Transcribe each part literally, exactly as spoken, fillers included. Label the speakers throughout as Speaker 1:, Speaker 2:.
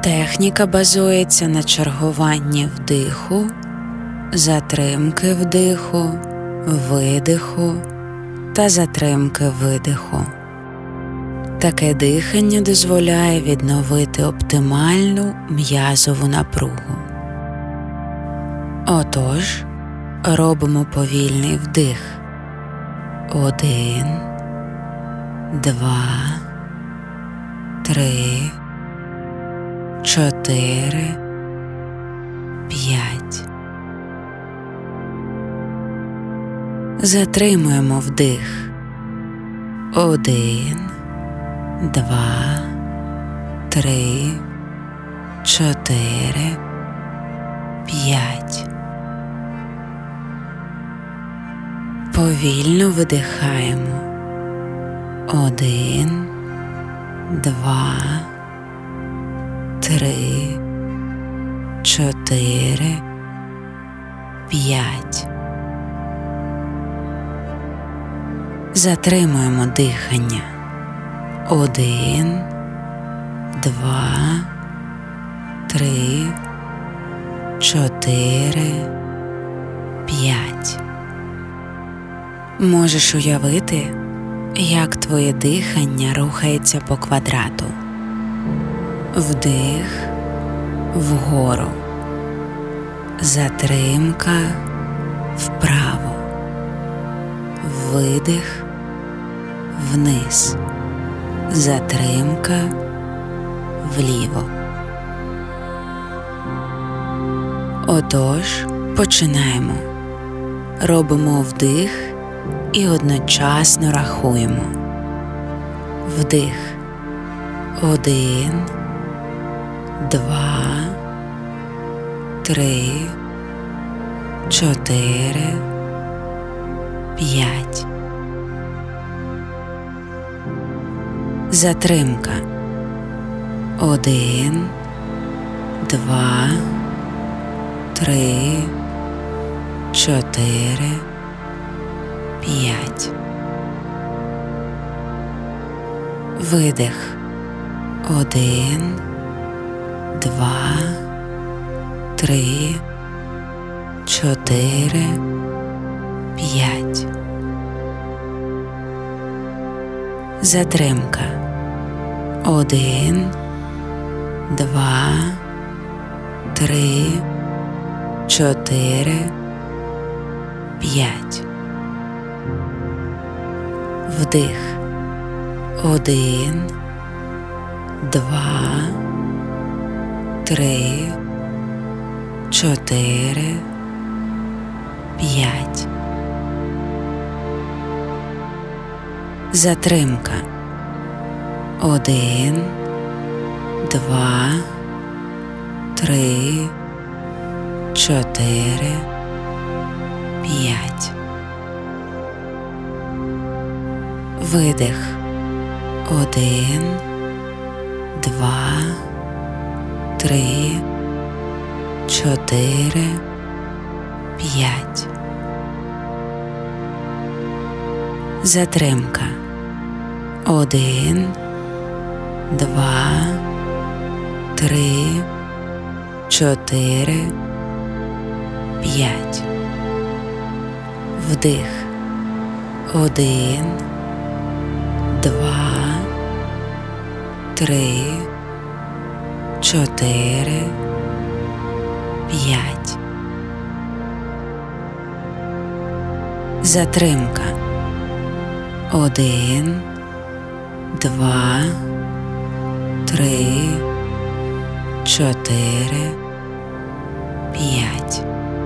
Speaker 1: Техніка базується на чергуванні вдиху, затримки вдиху, видиху та затримки видиху. Таке дихання дозволяє відновити оптимальну м'язову напругу. Отож, робимо повільний вдих. Один, два, три, чотири, п'ять. Затримуємо вдих. Один, два, три, чотири, п'ять. Повільно видихаємо. Один, два, три, чотири, п'ять. Затримуємо дихання. Один, два, три, чотири, п'ять. Можеш уявити, як твоє дихання рухається по квадрату. Вдих вгору, затримка вправо, видих вниз, затримка вліво. Отож, починаємо. Робимо вдих і одночасно рахуємо. Вдих. Один, два, три, чотири, п'ять. Затримка. Один, два, три, чотири, п'ять. Видих. Один, два, три, чотири, п'ять. Затримка. Один, два, три, чотири, п'ять. Вдих. Один, два, три, чотири, п'ять. Затримка. Один, два, три, чотири, п'ять. Видих. Один, два, три, чотири, п'ять. Затримка. Один, два, три, чотири, п'ять. Вдих. Один, два, три, чотири, п'ять. Затримка. Один, два, три, чотири, п'ять.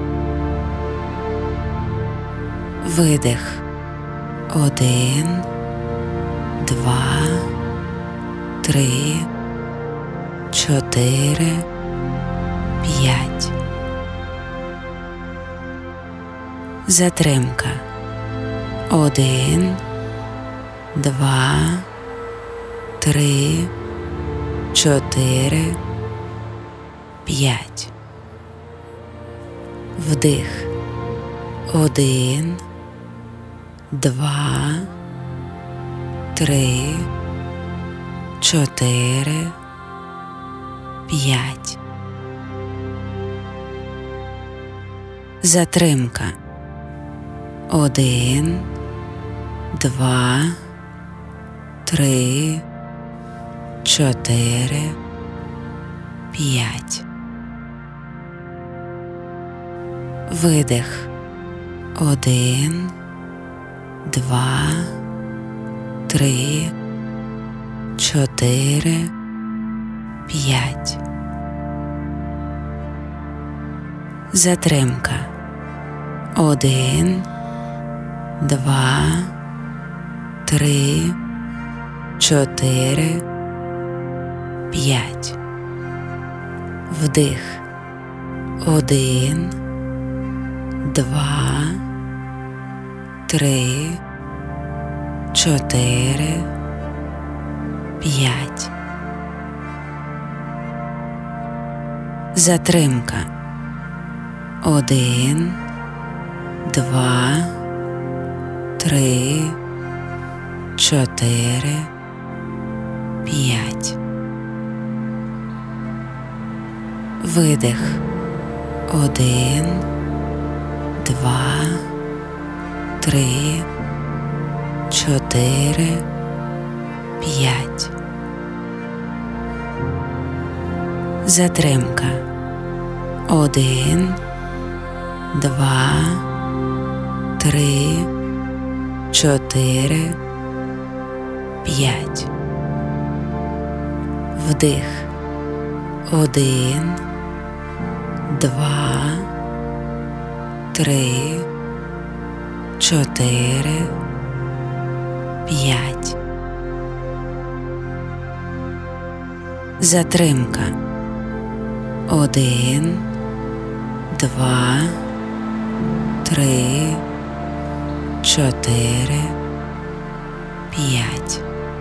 Speaker 1: Видих. Один, два, три, чотири, п'ять. Затримка. Один, два, три, чотири, п'ять. Вдих. Один, два, три, чотири, п'ять. Затримка. Один, два, три, чотири, п'ять. Видих. Один, два, три, чотири, п'ять. Затримка. Один, два, три, чотири, п'ять. Вдих. Один, два, три, чотири, п'ять. Затримка. Один, два, три, чотири, п'ять. Видих. Один, два, три, чотири, п'ять. Затримка. Один, два, три, чотири, п'ять. Вдих. Один, два, три, чотири, п'ять. Затримка. Один, два, три, чотири, п'ять.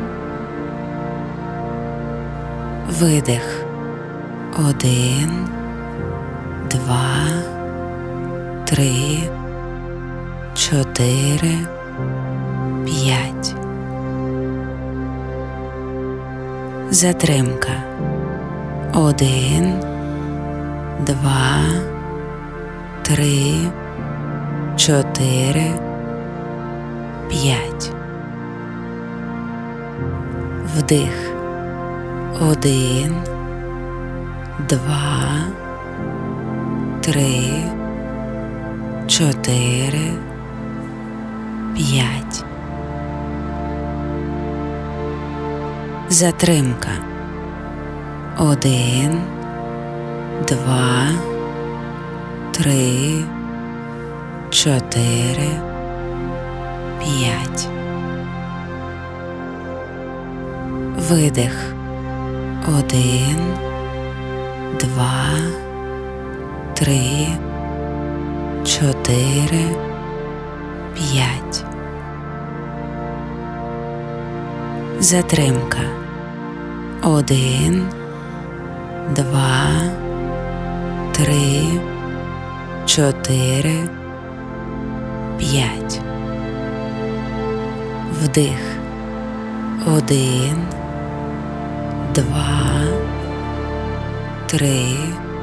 Speaker 1: Видих. Один, два, три, чотири, п'ять. Затримка. Один, два, три, чотири, п'ять. Вдих. Один, два, три, чотири, п'ять. Затримка. Один, два, три, чотири, п'ять. Видих. Один, два, три, чотири, п'ять. Затримка. Один, два, три, чотири, п'ять. Вдих. Один, два, три,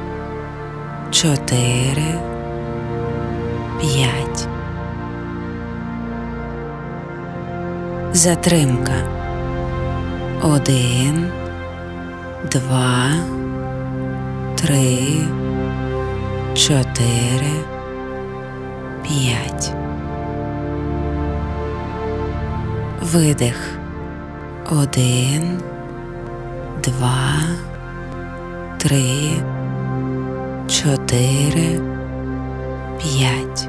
Speaker 1: чотири, п'ять. Затримка. Один, два, три, чотири, п'ять. Видих. Один, два, три, чотири, п'ять.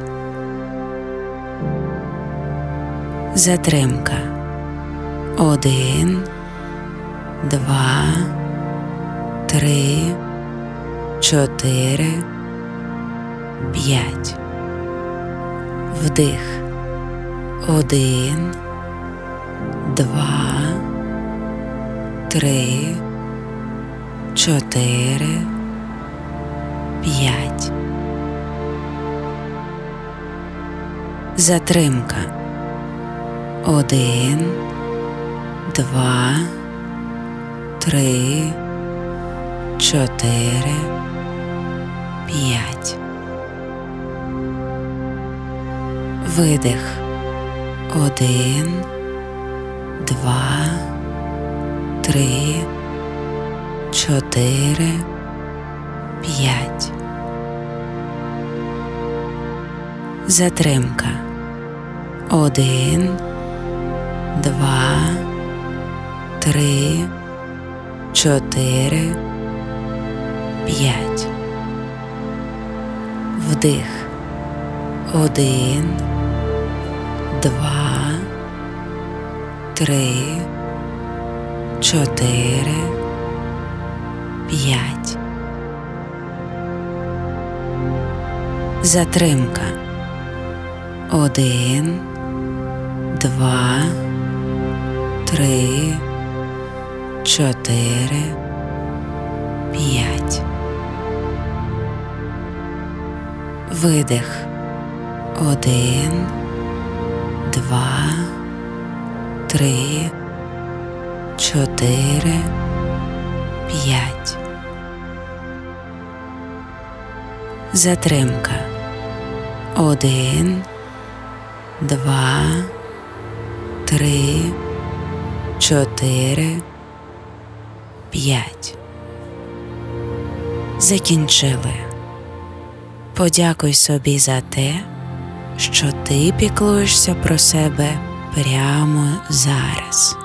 Speaker 1: Затримка. Один, два, три, чотири, п'ять. Вдих. Один, два, три, чотири, п'ять. Затримка. Один, два, три, чотири, п'ять. Видих. Один, два, три, чотири, п'ять. Затримка. Один, два, три, чотири, п'ять. Вдих. Один, два, три, чотири, п'ять. Затримка. Один, два, три, чотири, п'ять. Видих. Один, два, три, чотири, п'ять. Затримка. Один, два, три, чотири, п'ять. Закінчили. Подякуй собі за те, що ти піклуєшся про себе прямо зараз.